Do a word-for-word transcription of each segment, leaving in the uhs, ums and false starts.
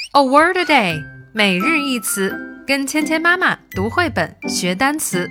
A word a day， 每日一词，跟芊芊妈妈读绘本学单词。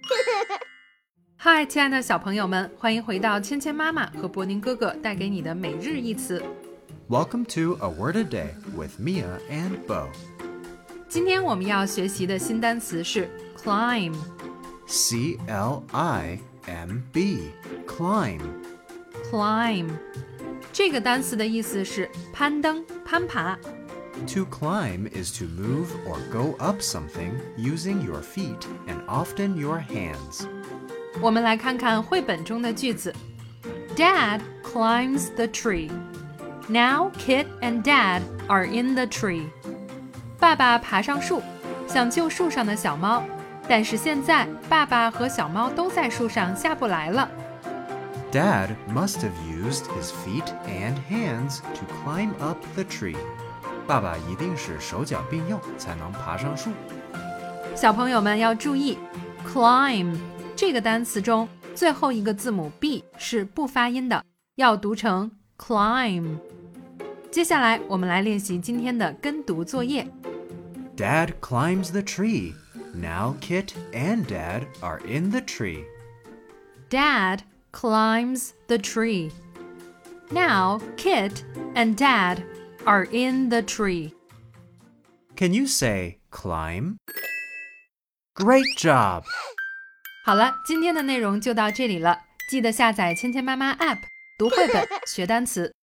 嗨，亲爱的小朋友们，欢迎回到芊芊妈妈和博宁哥哥带给你的每日一词。 Welcome to A Word a Day with Mia and Bo. 今天我们要学习的新单词是 climb。 C L I M B. Climb. Climb 这个单词的意思是攀登、攀爬。 To climb is to move or go up something using your feet and often your hands. 我们来看看绘本中的句子。 Dad climbs the tree. Now Kit and Dad are in the tree. 爸爸爬上树，想救树上的小猫，但是现在爸爸和小猫都在树上下不来了。 Dad must have used his feet and hands to climb up the tree. 爸爸一定是手脚并用才能爬上树。 小朋友们要注意 climb 这个单词中最后一个字母 b 是不发音的，要读成 climb。 接下来我们来练习今天的跟读作业。 Dad climbs the tree. Now Kit and Dad are in the tree. Dad climbs the tree. Now Kit and Dad are in the tree. Can you say climb? Great job! 好了，今天的内容就到这里了，记得下载芊芊妈妈 App 读绘本学单词。